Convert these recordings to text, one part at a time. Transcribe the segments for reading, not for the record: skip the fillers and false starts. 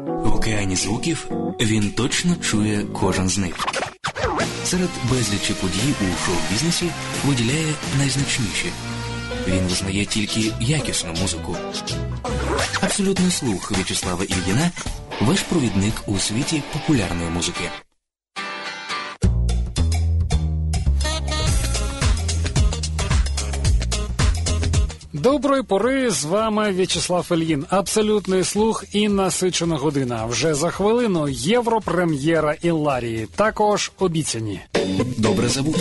В океані звуків він точно чує кожен з них. Серед безлічі подій у шоу-бізнесі виділяє найзначніші. Він визнає тільки якісну музику. Абсолютний слух В'ячеслава Ільїна – ваш провідник у світі популярної музики. Доброї пори, з вами В'ячеслав Ільїн. Абсолютний слух і насичена година. Вже за хвилину європрем'єра Ілларії. Також обіцяні. Добре забути.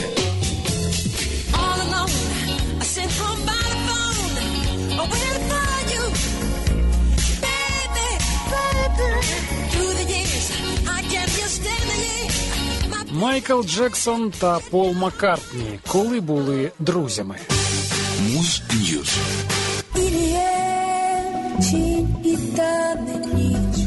Майкл Джексон та Пол Маккартні, коли були друзями. Муз Ньюз. І є тінь, і тане ніч.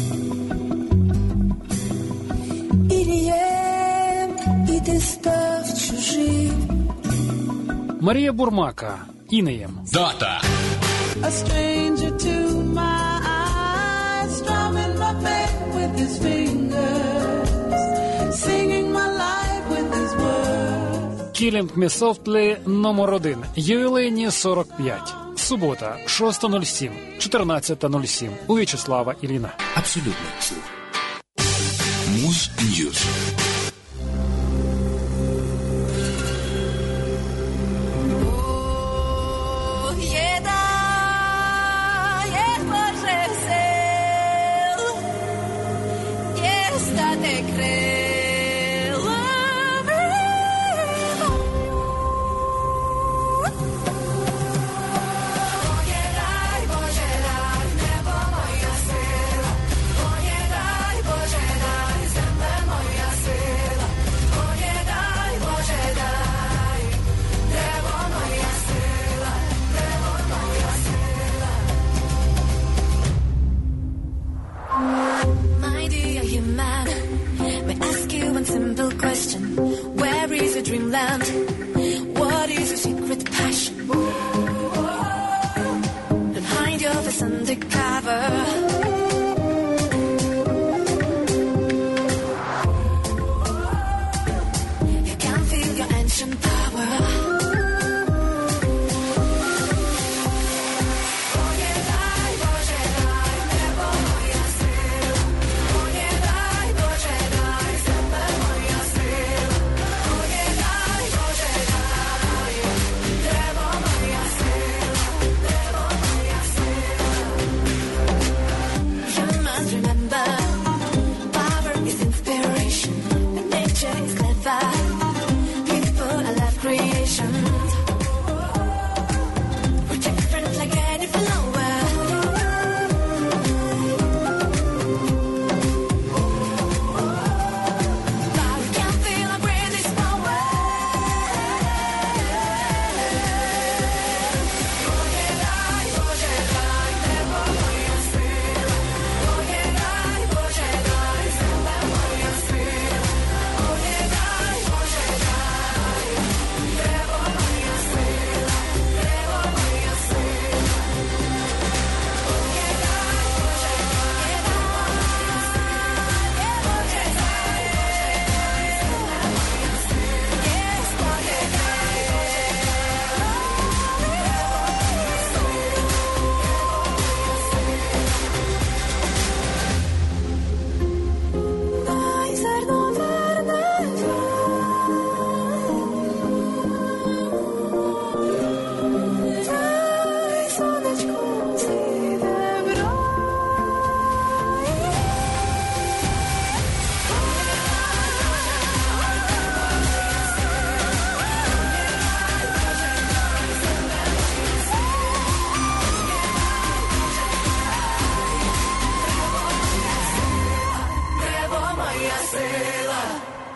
І ти став чужим. Марія Бурмака, Інеєм. Дата. A stranger to my eyes, strumming my back with his fingers, singing my life with his words. Killing Me Softly номер 1. Ювілейні 45. Субота, 6.07, 14.07. У В'ячеслава Ільїна. Абсолютний слух. Муз Ньюз. My dear, you matter.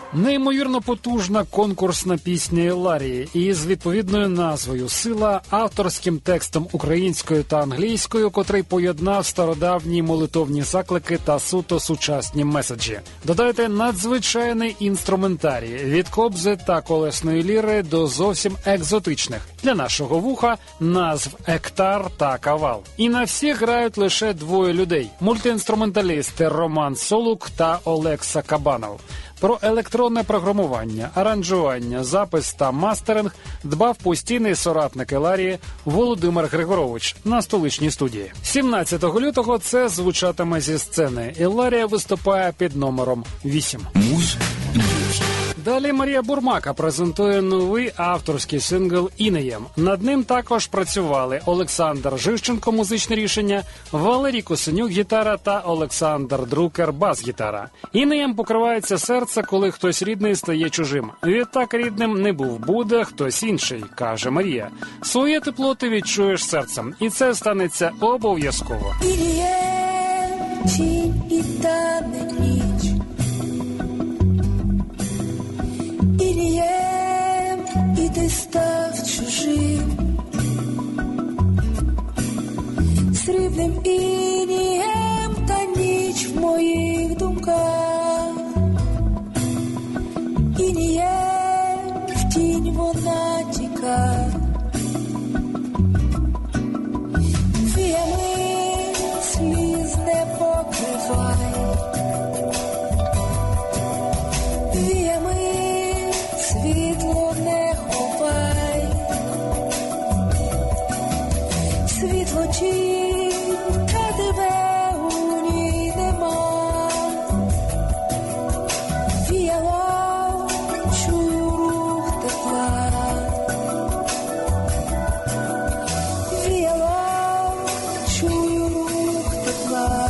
Неймовірно потужна конкурсна пісня Ілларії із відповідною назвою «Сила», авторським текстом українською та англійською, котрий поєднав стародавні молитовні заклики та суто сучасні меседжі. Додайте надзвичайний інструментарій від кобзи та колесної ліри до зовсім екзотичних для нашого вуха назв «Ектар» та «Кавал». І на всіх грають лише двоє людей – мультиінструменталісти Роман Солук та Олекса Кабанов. Про електронне програмування, аранжування, запис та мастеринг дбав постійний соратник Ілларії Володимир Григорович на столичній студії. 17 лютого це звучатиме зі сцени. Ілларія виступає під номером 8. Муз Ньюз. Далі Марія Бурмака презентує новий авторський сингл «Інеєм». Над ним також працювали Олександр Живченко – музичне рішення, Валерій Косенюк – гітара та Олександр Друкер – бас-гітара. «Інеєм» покривається серце, коли хтось рідний стає чужим. Відтак рідним не був, буде хтось інший, каже Марія. Своє тепло ти відчуєш серцем, і це станеться обов'язково. Інеєм, тінь і тане ніч. Інеєм, і ти став чужим. Срібним інеєм та ніч в моїх думках. Інеєм, в тінь вона тікає. Віями сліз не покривай. Світло не ховай, світло тінь, та тебе у ній нема. Віяло, чую рух тепла. Віяло, чую рух тепла.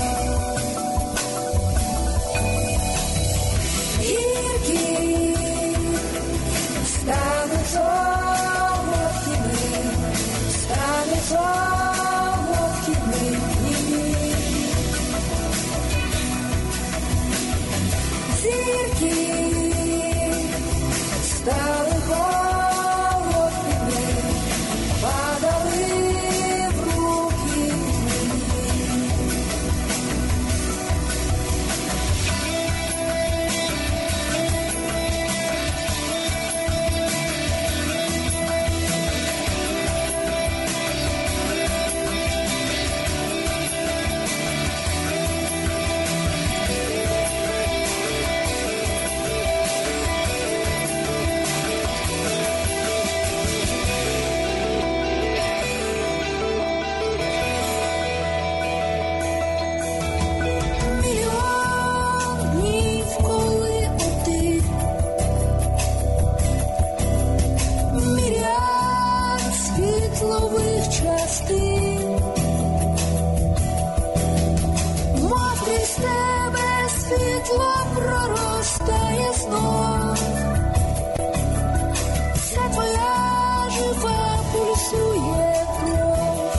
Стане солодкими дні. Зірки стали холодними, падали в руки. Мов крізь тебе світло проростає знов. Це твоя жива пульсує кров.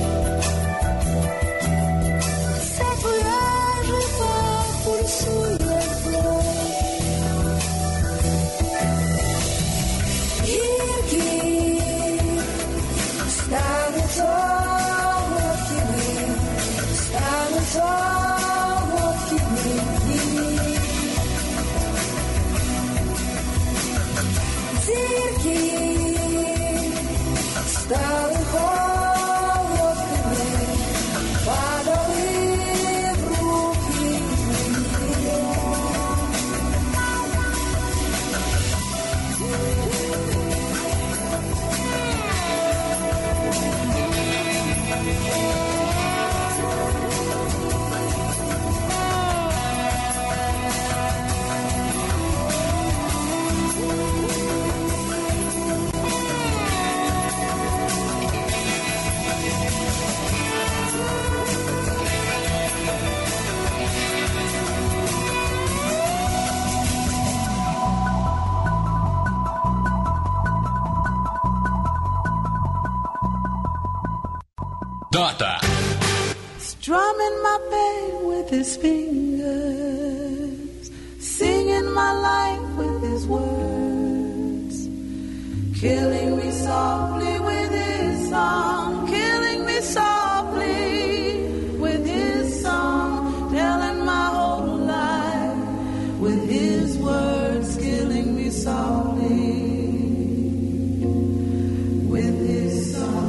Це твоя жива пульсує кров. Гіркі стануть солодкими, стануть солодкими дні. Зірки стали холодними, падали в руки. Дата. Strumming my pain with his fingers, singing my life with killing me softly with his song, killing me softly with his song, telling my whole life with his words, killing me softly with his song.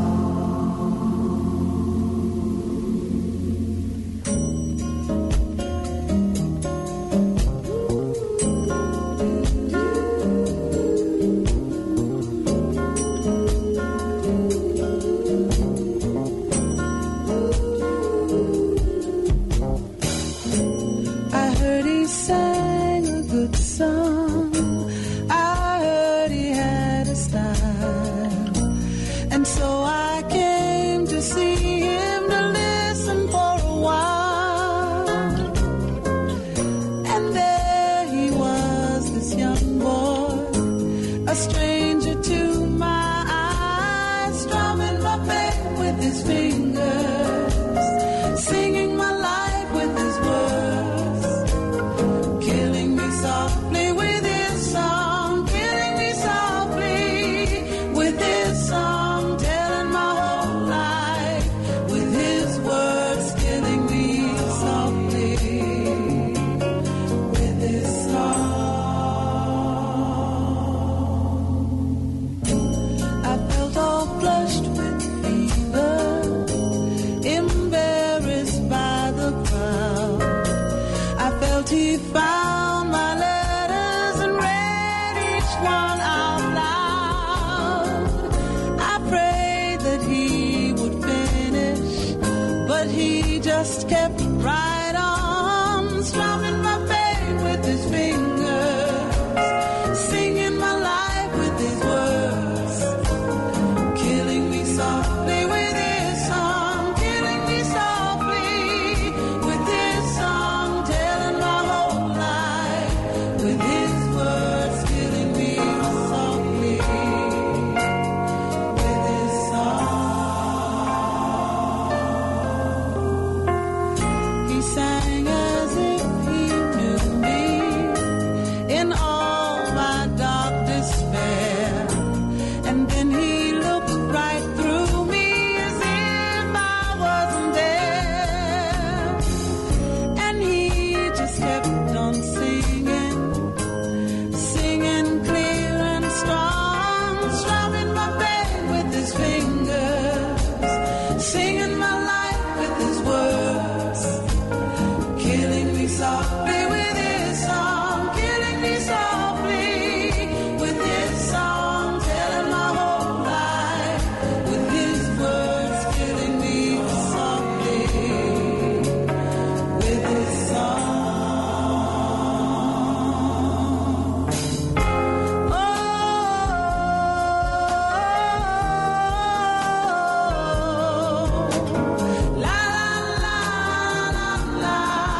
Just kept right on strumming my pain with his fingers, singing my life with his words, killing me softly with his song, killing me softly with his song, telling my whole life with his words, killing me softly with his song. Sang as if he knew me in all my dark despair, and then he looked right through me as if I wasn't there, and he just kept on singing, singing clear and strong, strumming my pain with his fingers, singing my life with his words, killing me softly with his song, killing me softly with his song, telling my whole life with his words, killing me softly with his song. Oh, la la la la.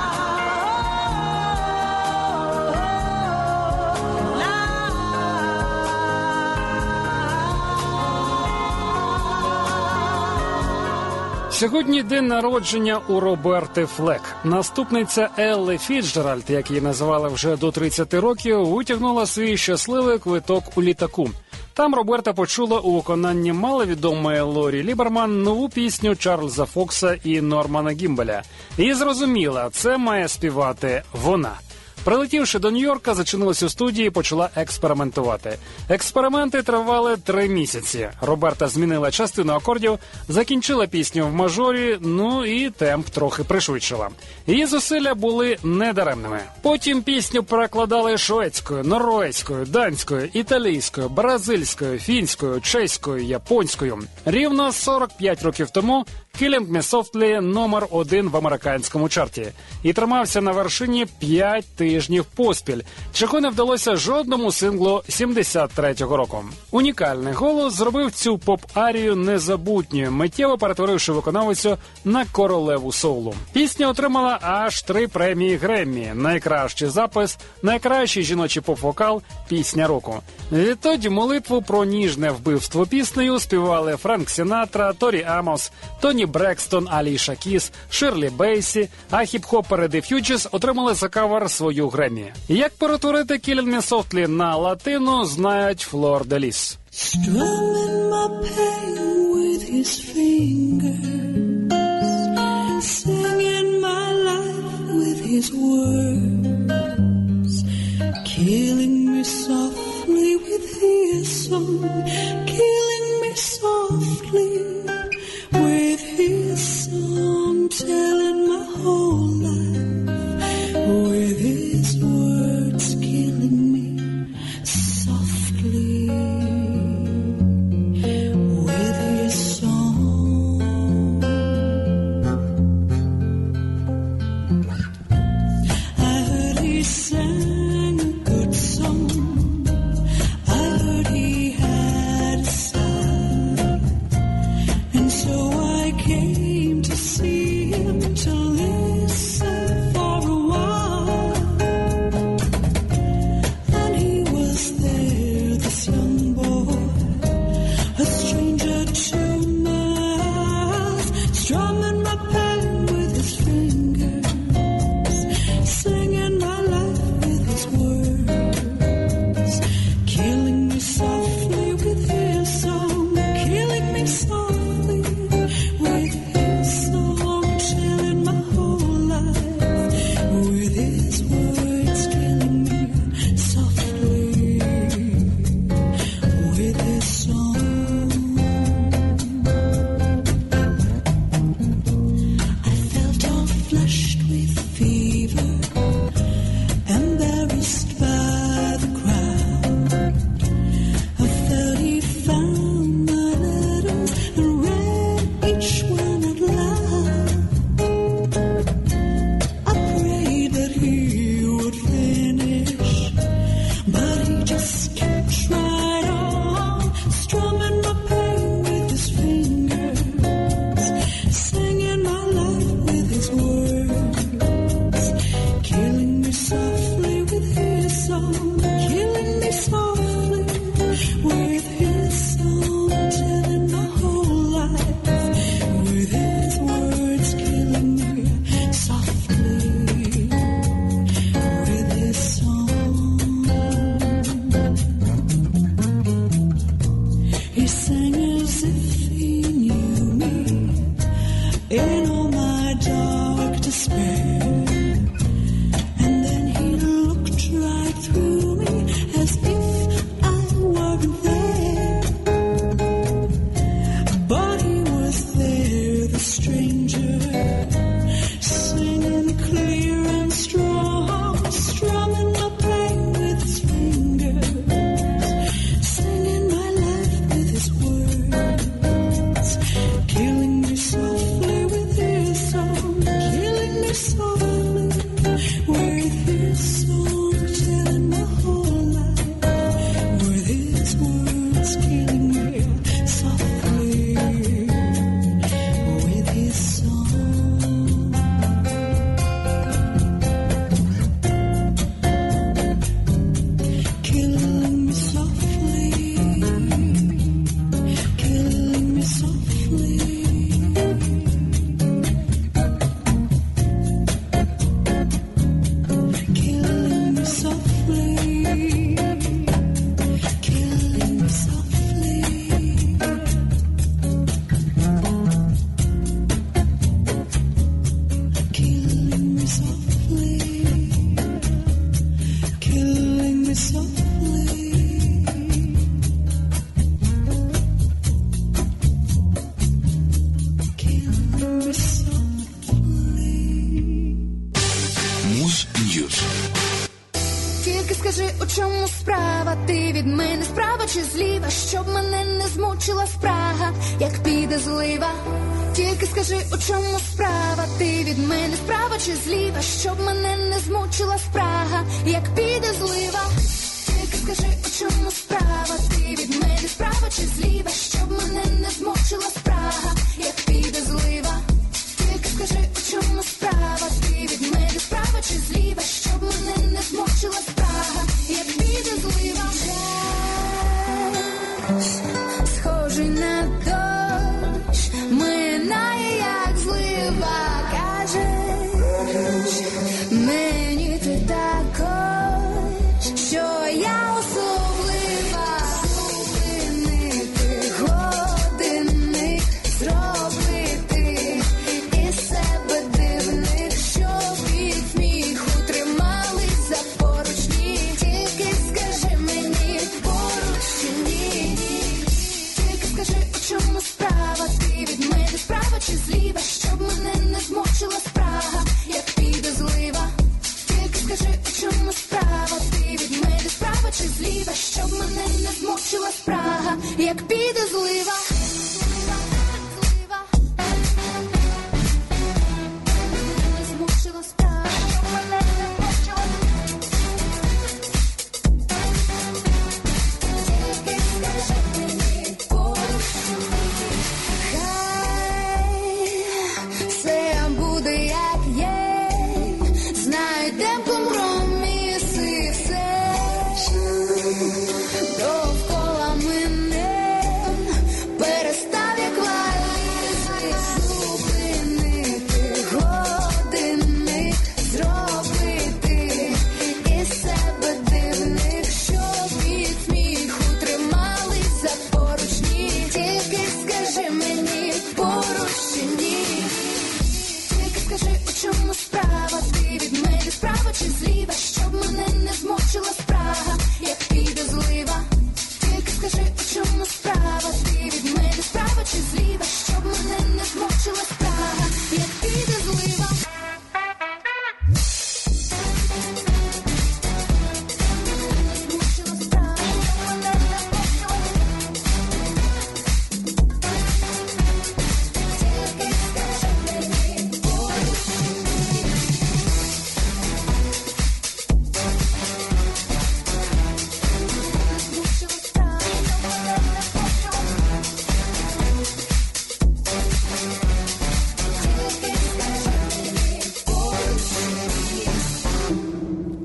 Сьогодні день народження у Роберти Флек. Наступниця Елли Фіцджеральд, як її називали вже до 30 років, витягнула свій щасливий квиток у літаку. Там Роберта почула у виконанні маловідомої Лорі Ліберман нову пісню Чарльза Фокса і Нормана Гімбеля. І зрозуміла, це має співати вона. Прилетівши до Нью-Йорка, зачинилась у студії і почала експериментувати. Експерименти тривали 3 місяці. Роберта змінила частину акордів, закінчила пісню в мажорі, ну і темп трохи пришвидшила. Її зусилля були недаремними. Потім пісню перекладали шведською, норвезькою, данською, італійською, бразильською, фінською, чеською, японською. Рівно 45 років тому «Killing Me Softly» номер 1 в американському чарті. І тримався на вершині 5 тижнів поспіль, чого не вдалося жодному синглу 73-го року. Унікальний голос зробив цю поп-арію незабутньою, миттєво перетворивши виконавицю на королеву соулу. Пісня отримала аж 3 премії Греммі: найкращий запис, найкращий жіночий поп-вокал, пісня року. Відтоді молитву про ніжне вбивство піснею співали Френк Сінатра, Торі Амос, Тоні Брекстон, Аліша Кіс, Ширлі Бейсі, а хіп-хопери The Fugees отримали за кавер свою Греммі. Як перетворити «Killing Me Softly» на латину, знають Флор де Ліс. strumming my pain with his fingers, singing my life with his words, killing me softly with his song, killing me softly with his song, telling my whole life with his words, killing me softly with his song. I heard he sang a good song, I heard he had a style, and so I came to see him, to listen for a while. And he was there, this young boy, a stranger to my eyes, strumming my pain with his fingers, singing my life with his words, killing me softly with his song, killing me softly with his song, chilling my whole life with his words, killing me softly with his song. I felt all flushed with fever, embarrassed by the crowd. I felt he found my letters and read each one out loud. I prayed that he would finish, but he just kept right on, strumming my pain with his fingers, singing my life with his words, killing me softly with his song, killing me softly with his song, telling my whole life with his words, killing me softly with his song. He sang as if he knew me in all my dark despair, and then he looked right through me as if I weren't there. But he was there, the stranger, singing clear and strong, strumming my pain with his fingers, singing my life with his words, killing me softly with his song, killing me softly with his song, telling my whole life with his words, killing me softly with his song. Killing me softly, killing me softly. Killing me softly, killing me softly. Killing me softly, killing me softly. Killing me softly. Муз Ньюз. Тільки скажи, у чому справа, ти від мене справа чи зліва, щоб мене не змучила спрага, як піде злива. Тільки скажи, у чому справа, ти від мене справа чи зліва, щоб мене не змучила спрага, як піде злива. Тільки скажи, у чому справа, ти від мене справа чи зліва, щоб мене не змучила спрага, як піде злива. Тільки скажи, у чому справа, ти від мене справа чи зліва, щоб мене не змучила спрага, як піде злива. Схожий на дощ, минає як злива, кажеш мені ти також, що я особлива. Зупини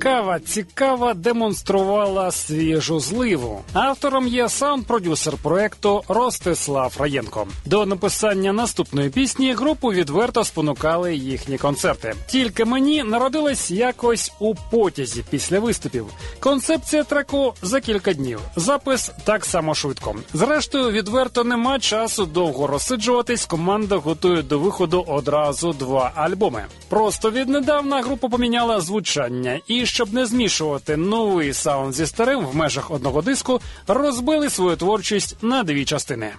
Цікава демонструвала свіжу зливу. Автором є саунд-продюсер проекту Ростислав Раєнко. До написання наступної пісні групу відверто спонукали їхні концерти. «Тільки мені» народилась якось у потязі після виступів. Концепція треку за кілька днів. Запис так само швидко. Зрештою, відверто нема часу довго розсиджуватись. Команда готує до виходу одразу 2 альбоми. Просто віднедавна група поміняла звучання і, щоб не змішувати новий саунд зі старим в межах одного диску, розбили свою творчість на 2 частини.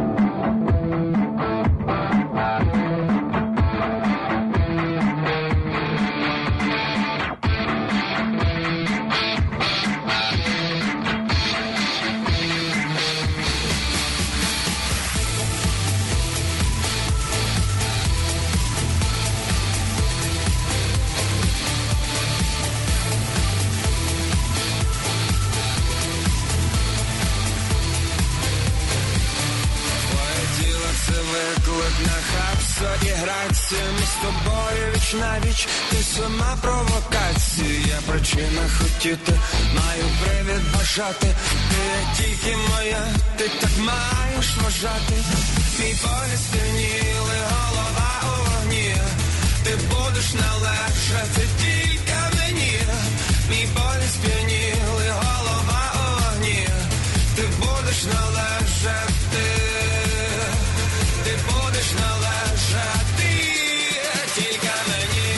І грація, ми з тобою віч на віч. Ти сама провокація, причина хотіти, маю привід бажати. Ти тільки моя, ти так маєш вважати. Мій погляд сп'яніли, голова у вогні. Ти будеш належати тільки мені. Мій погляд сп'яніли, голова у вогні. Ти будеш належати. Ти будеш належати тільки мені.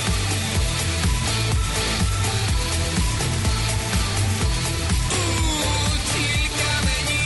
Тільки мені.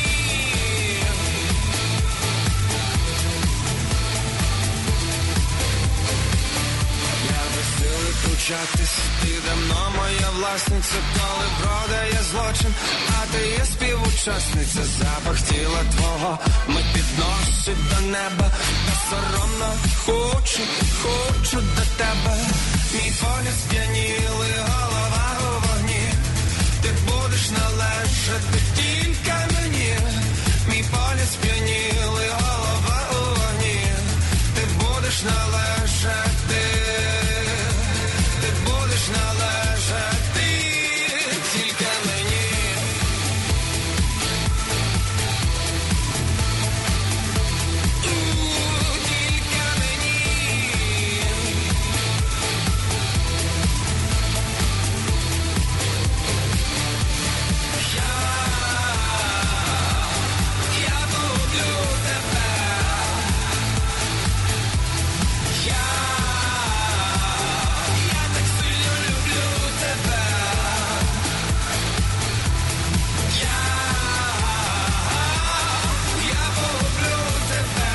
Я безсилий кручатись, ти давно моя власниця, коли продає злочин, а ти є співучасниця. Запах тіла твого мить підносить до неба, та соромно хочу до тебе. Мій погляд сп'янілий, голова у вогні. Ти будеш належати тільки мені. Мій погляд сп'янілий, голова у вогні. Ти будеш належати. Ти будеш належати тільки мені. Тільки мені. Я люблю тебе. Я так сильно люблю тебе. Я полюблю тебе.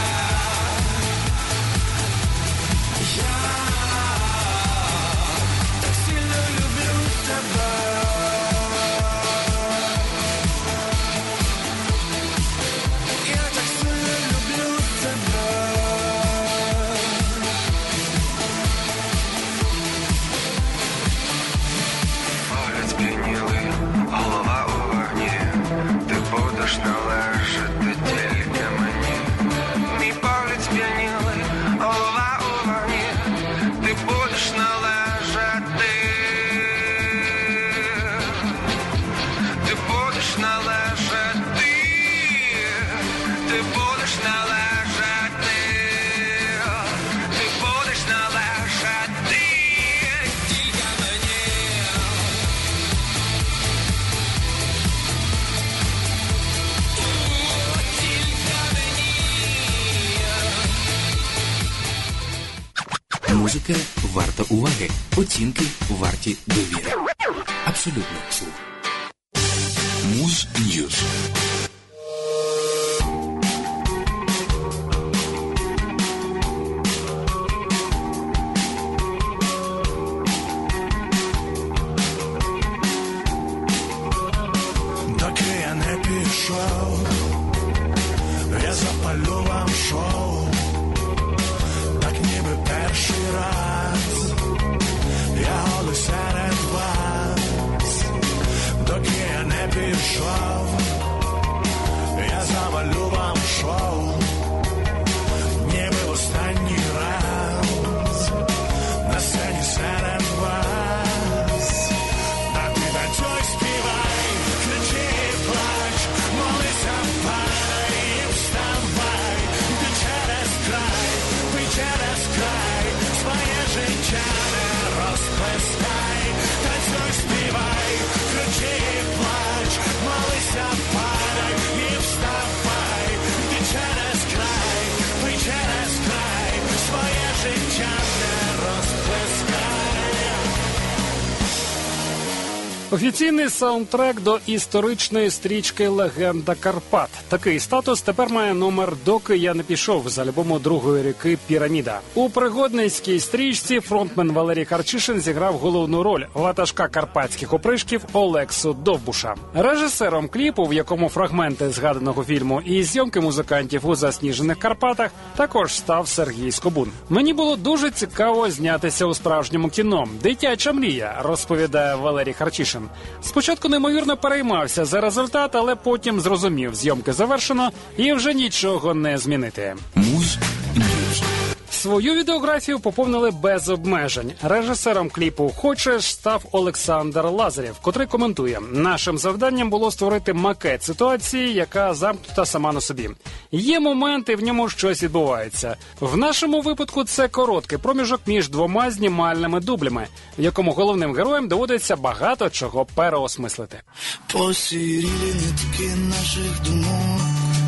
Я так сильно люблю тебе. Я так сильно люблю тебе. Погляд сп'янілий, голова у вогні. Ти будеш належати тільки мені. Мій погляд сп'янілий, голова у вогні. Ти будеш належати. Ти будеш належати. Ти будеш належати. Ти будеш належати тільки мені. Музика варта уваги. Оцінки варті довіри. Абсолютно слух. Муз Ньюз. Доки я не пішов, я запалю вам шоу, так ніби перший раз, я голий серед вас. Доки я не пішов, Офіційний саундтрек до історичної стрічки «Легенда Карпат». Такий статус тепер має номер «Доки я не пішов» з альбому «Другої ріки Піраміда». У пригодницькій стрічці фронтмен Валерій Харчишин зіграв головну роль ватажка карпатських опришків Олексу Довбуша. Режисером кліпу, в якому фрагменти згаданого фільму і зйомки музикантів у засніжених Карпатах, також став Сергій Скобун. Мені було дуже цікаво знятися у справжньому кіно. Дитяча мрія, розповідає Валерій Харчишин. Спочатку неймовірно переймався за результат, але потім зрозумів, зйомки завершено і вже нічого не змінити. Муз-Ньюз. Свою відеографію поповнили без обмежень. Режисером кліпу «Хочеш» став Олександр Лазарєв, котрий коментує: «Нашим завданням було створити макет ситуації, яка замкнута сама на собі. Є моменти, в ньому щось відбувається. В нашому випадку це короткий проміжок між двома знімальними дублями, в якому головним героям доводиться багато чого переосмислити». Посірілі нитки наших думок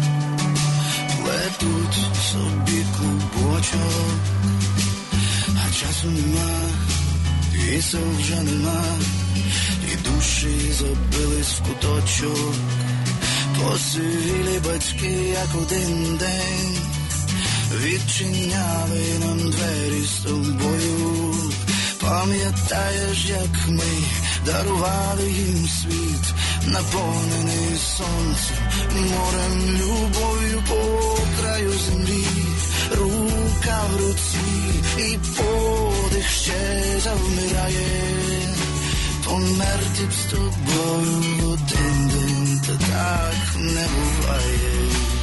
плетуть собі клубочок, а часу нема, і сил вже нема, і душі забились в куточок. Посивілі батьки, як один день, відчиняли нам двері з тобою. Пам'ятаєш, як ми дарували їм світ, наповнений сонцем, морем, любов'ю по краю землі, рука в руці, і подих ще завмирає. Померти б з тобою в один день, та так не буває.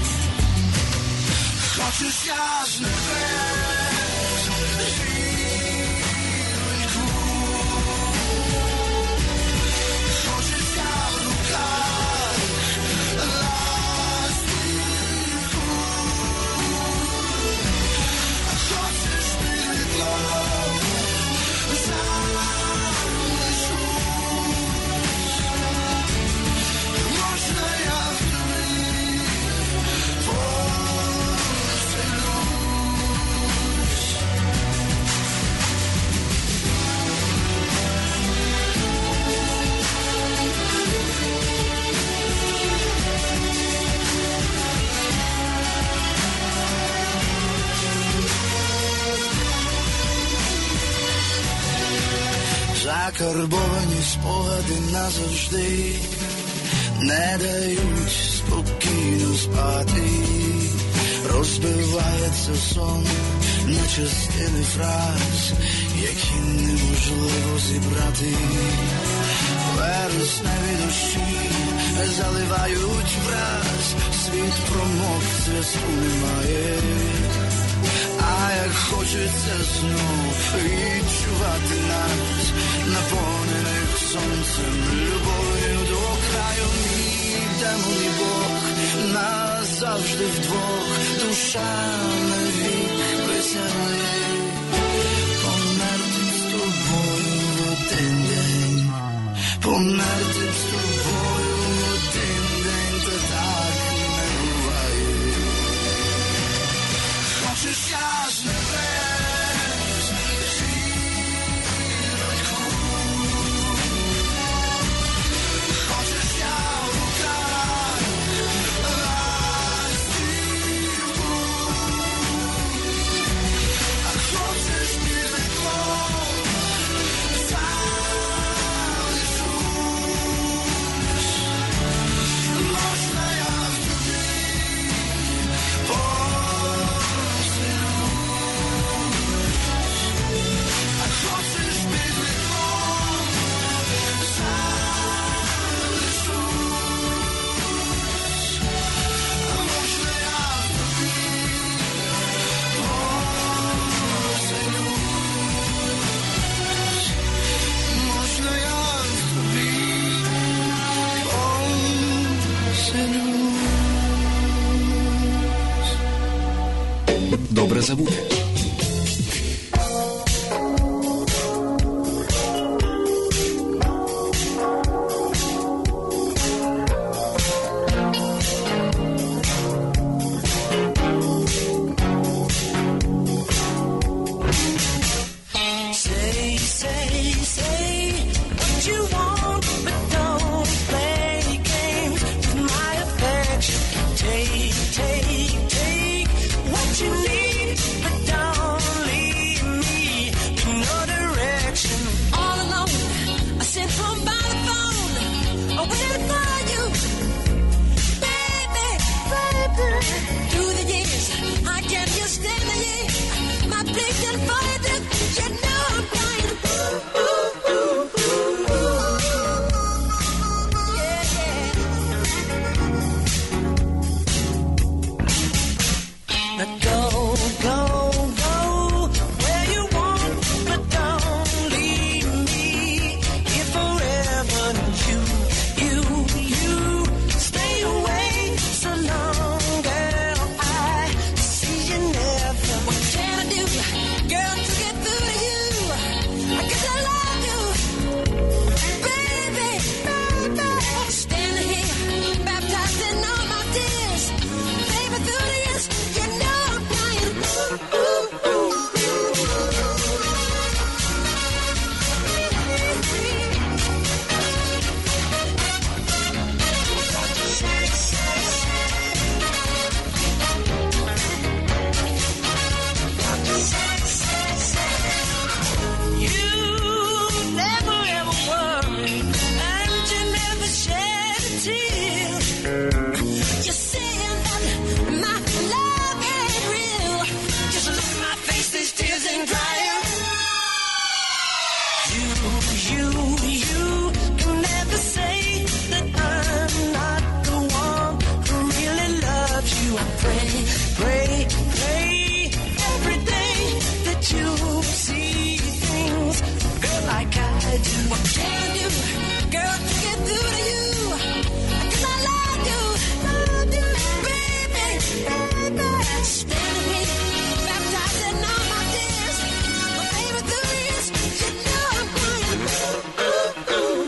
Хочеш, я з небес зірку, хочеш, я в руках ластівку, а хочеш, під вікном залишусь. Можна я в тобі поселюсь? Закарбовані спогади назавжди не дають спокійно спати. Розбивається сон на частини фраз, які неможливо зібрати. Вересневі дощі заливають враз, світ промок, зв'язку немає. А як хочеться знов відчувати нас, наповнених сонцем, любов'ю до краю, мій демон і Бог, нас завжди вдвох, душа навік присягли. Померти б з тобою в один день, померти б з тобою в один день, та так не буває. Хочеш, я з небес зірку, хочеш, я в руках ластівку, а хочеш, під вікном залишусь. Можна я в тобі Добре забути. Say what you want, but Can you, girl, to get through to you? 'Cause I love you, baby, baby. Stand with me, baptized in all my tears. My favorite theory is, you know I'm crying. Ooh, ooh.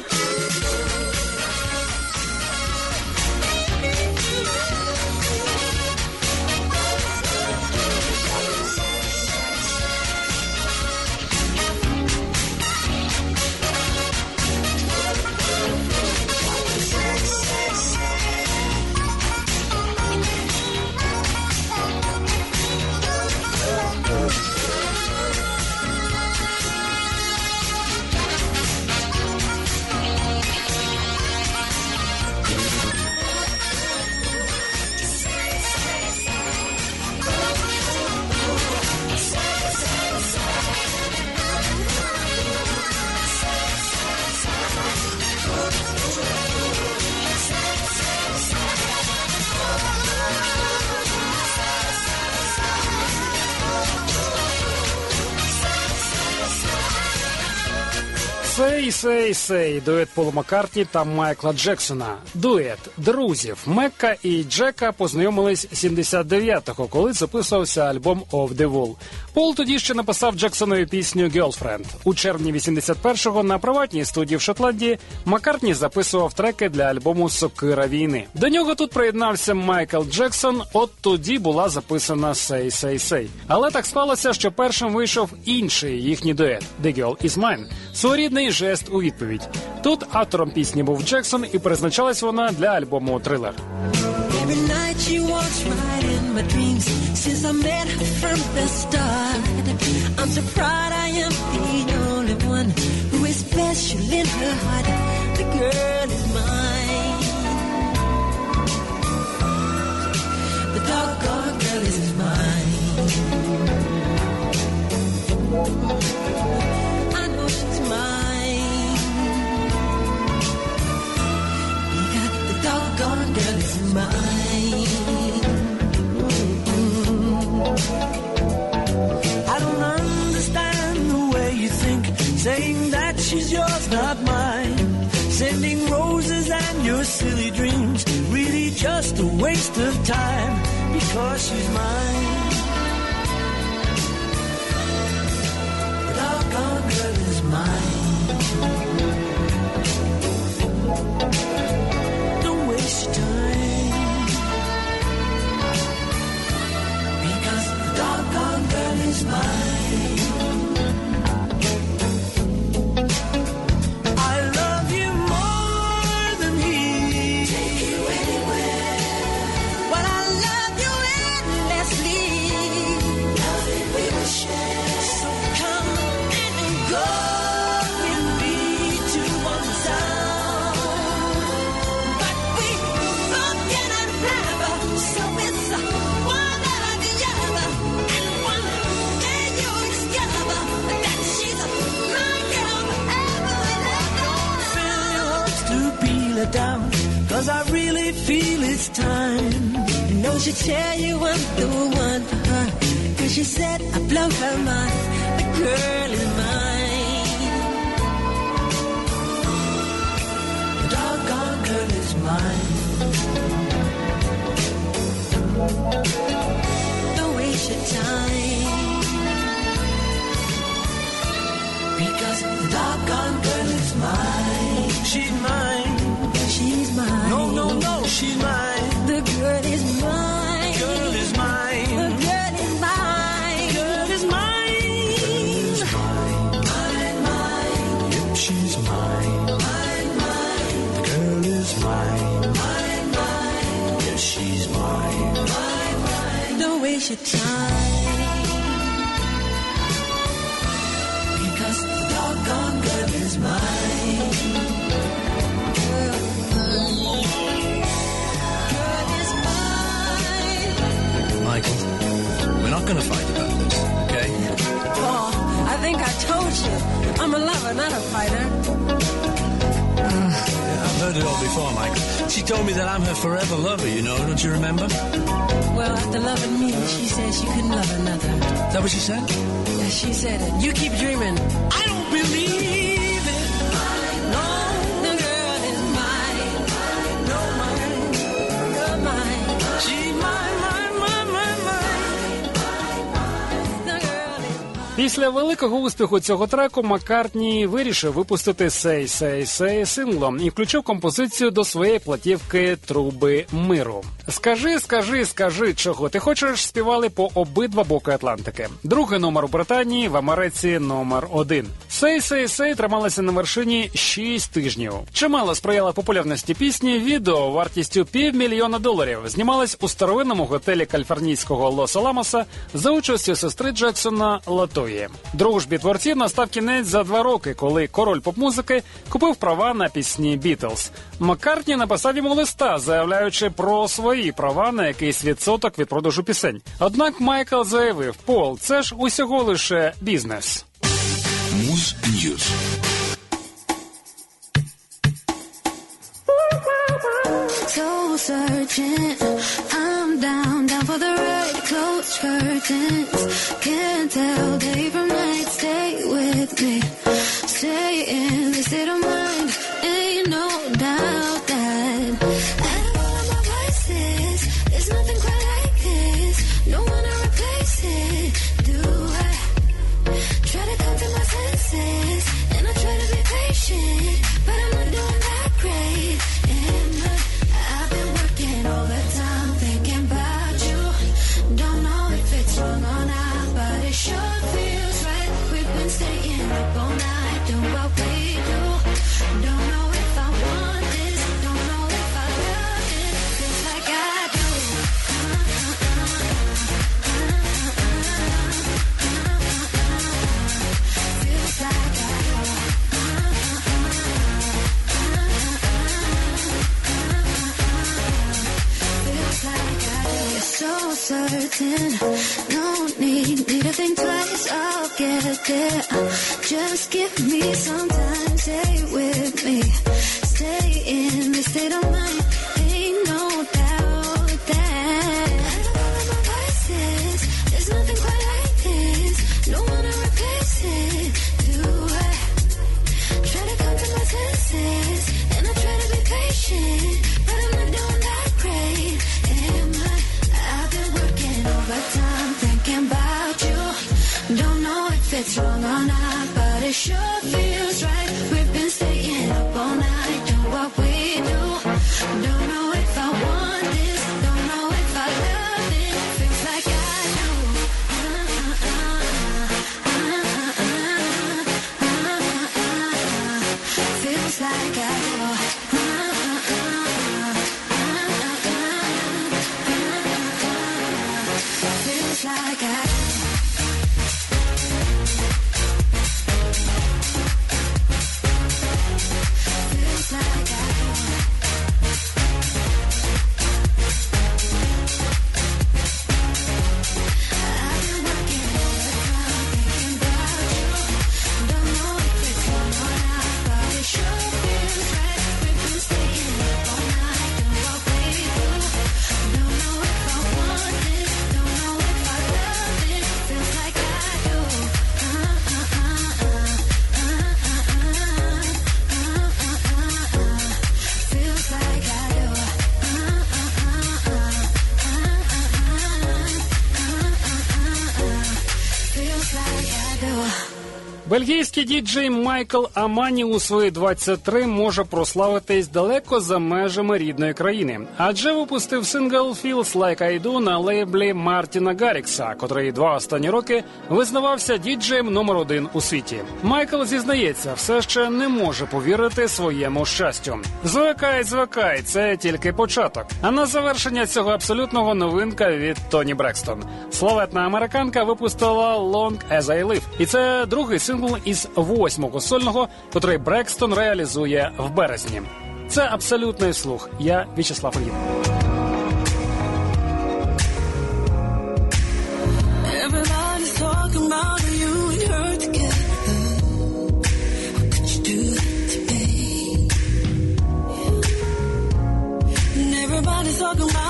Сей, сей, сей. Дует Пола Маккартні та Майкла Джексона. Дует друзів. Мекка і Джека познайомились 79-го, коли записувався альбом «Off the Wall». Пол тоді ще написав Джексонові пісню «Girlfriend». У червні 81-го на приватній студії в Шотландії Маккартні записував треки для альбому «Сокира війни». До нього тут приєднався Майкл Джексон, от тоді була записана «Сей, сей, сей». Але так склалося, що першим вийшов інший їхній дует «The Girl Is Mine». Своєрідний жест у відповідь. Тут автором пісні був Джексон, і призначалась вона для альбому «Thriller». Every night she walks right in my dreams since I met her from the start. I'm so proud I am the only one who is special in her heart. The girl is mine. The doggone girl is mine. I know she's mine. Yeah, the doggone girl is mine. I don't understand the way you think, saying that she's yours, not mine. Sending roses and your silly dreams, really just a waste of time, because she's mine. The doggone girl is mine. Don't waste your time, because the doggone girl is mine. I love you more than he. Take you anywhere. But I love you endlessly. Love it we will share. So come and go with me to one sound. But we both cannot have, so it's one after the other. And one day you'll discover that she's my girl forever and ever. Fill your hopes to peel it down, 'cause I really feel it's time. You know she tell you I'm the one for her, 'cause she said I blow her mind. The girl is mine. The doggone girl is mine. Don't waste your time, Because the doggone girl is mine. She's mine. she's mine. No, no, no, she's mine. The girl is mine. Girl is The mine. girl is mine. Girl is mine. Mine, mine, Yep, she's mine. mine, mine, The girl is mine. mine, mine, Yes, she's mine. mine, mine. Don't waste your time, Because the doggone girl is mine. girl is mine. Michael, we're not going to fight about this, okay? Paul, I think I told you, I'm a lover, not a fighter. I've heard it all before, Michael. She told me that I'm her forever lover, you know, don't you remember? Well, after loving me, she said she couldn't love another. Is that what she said? She said it. You keep dreaming. I don't believe it. Після великого успіху цього треку Маккартні вирішив випустити «Say, Say, Say» синглом і включив композицію до своєї платівки «Труби миру». «Скажи, скажи, скажи, чого ти хочеш» співали по обидва боки Атлантики. Другий номер у Британії, в Америці номер 1. «Say, Say, Say» трималася на вершині 6 тижнів. Чимало сприяла популярності пісні, відео вартістю $500 000 знімалось у старовинному готелі каліфорнійського Лос-Аламоса за участю сестри Джексона Латої. Дружбі творців настав кінець за 2 роки, коли король поп-музики купив права на пісні «Бітлз». Маккартні написав йому листа, заявляючи про свої права на якийсь відсоток від продажу пісень. Однак Майкл заявив: «Пол, це ж усього лише бізнес». Муз Ньюз. Soul searching, I'm down for the ride. Close curtains, can't tell day from night. Stay with me, stay in this state of mind. Ain't no doubt that out of all of my vices, there's nothing quite like this. No one to replace it. Do I try to come to my senses, and I try to be patient, but I'm not doing that great. I've been working overtime, thinking about you. Don't know if it's wrong or not, but it sure feels right. We've been staying up all night, doing what we do. Don't know if I want this, don't know if I love it. Feels like I do. Feels like I do. So certain, no need to think twice, I'll get there. Just give me some time, stay with me, stay in this state of mind. Ain't no doubt that out of all of my vices, there's nothing quite like this. No one to replace it. Do I try to come to my senses, and I try to be patient, but I'm not doing that great. I've been working overtime, thinking about you. Don't know if it's wrong or not, but it sure feels right. We've been staying up all night, doing what we do. Don't know if I want this, don't know if I love it. Feels like I do. Feels like I do. Feels like I do. Feels like I do. I've been working overtime, thinking about you. Don't know if it's wrong or not, but it sure feels right. We've been staying up all night, doing what we do. Don't know if I want this, don't know if I love it. Feels like I do. Feels like I do. Feels like I do. Бельгійський діджей Майкл Амані у свої 23 може прославитись далеко за межами рідної країни, адже випустив сингл «Feels Like I Do» на лейблі Мартіна Гаррікса, котрий 2 останні роки визнавався діджеєм номер 1 у світі. Майкл зізнається, все ще не може повірити своєму щастю. Звикай, це тільки початок. А на завершення цього абсолютного новинка від Тоні Брекстон. Славетна американка випустила «Long As I Live», і це другий сингл із 8-го сольного, котрий Брекстон реалізує в березні. Це абсолютний слух. Я В'ячеслав Ільїн. Everybody's talking about you and her together. How could you do that to me? And everybody's talking about